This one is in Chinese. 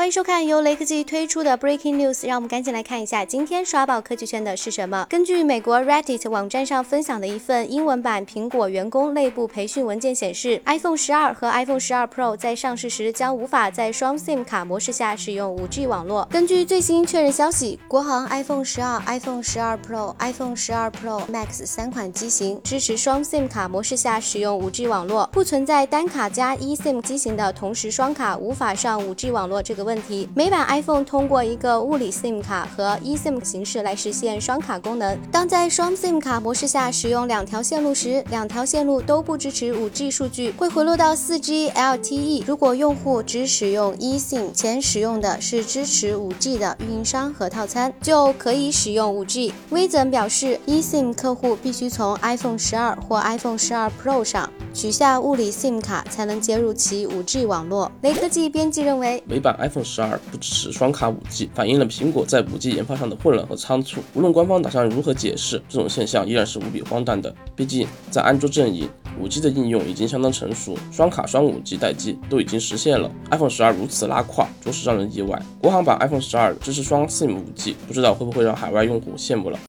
迎收看由雷科技推出的 Breaking News， 让我们赶紧来看一下今天刷爆科技圈的是什么。根据美国 Reddit 网站上分享的一份英文版苹果员工内部培训文件显示 ，iPhone 12和 iPhone 12 Pro 在上市时将无法在双 SIM 卡模式下使用 5G 网络。根据最新确认消息，国行 iPhone 12、iPhone 12 Pro、iPhone 12 Pro Max 3款机型支持双 SIM 卡模式下使用 5G 网络，不存在单卡加 eSIM 机型的同时双卡无法上 5G 网络这个问题。每版 iPhone 通过一个物理 SIM 卡和 eSIM 形式来实现双卡功能。当在双 SIM 卡模式下使用2条线路时，2条线路都不支持 5G 数据，会回落到 4G LTE。如果用户只使用 eSIM， 且使用的是支持 5G 的运营商和套餐，就可以使用 5G。微整表示 ，eSIM 客户必须从 iPhone 12或 iPhone 12 Pro 上取下物理 SIM 卡，才能接入其 5G 网络。雷科技编辑认为， 美版 iPhone 12不支持双卡 5G， 反映了苹果在 5G 研发上的混乱和仓促。无论官方打算如何解释，这种现象依然是无比荒诞的。毕竟，在安卓阵营，5G 的应用已经相当成熟，双卡双 5G 待机都已经实现了。iPhone 12如此拉胯，着实让人意外。国行版 iPhone 12支持双 SIM 5G，不知道会不会让海外用户羡慕了。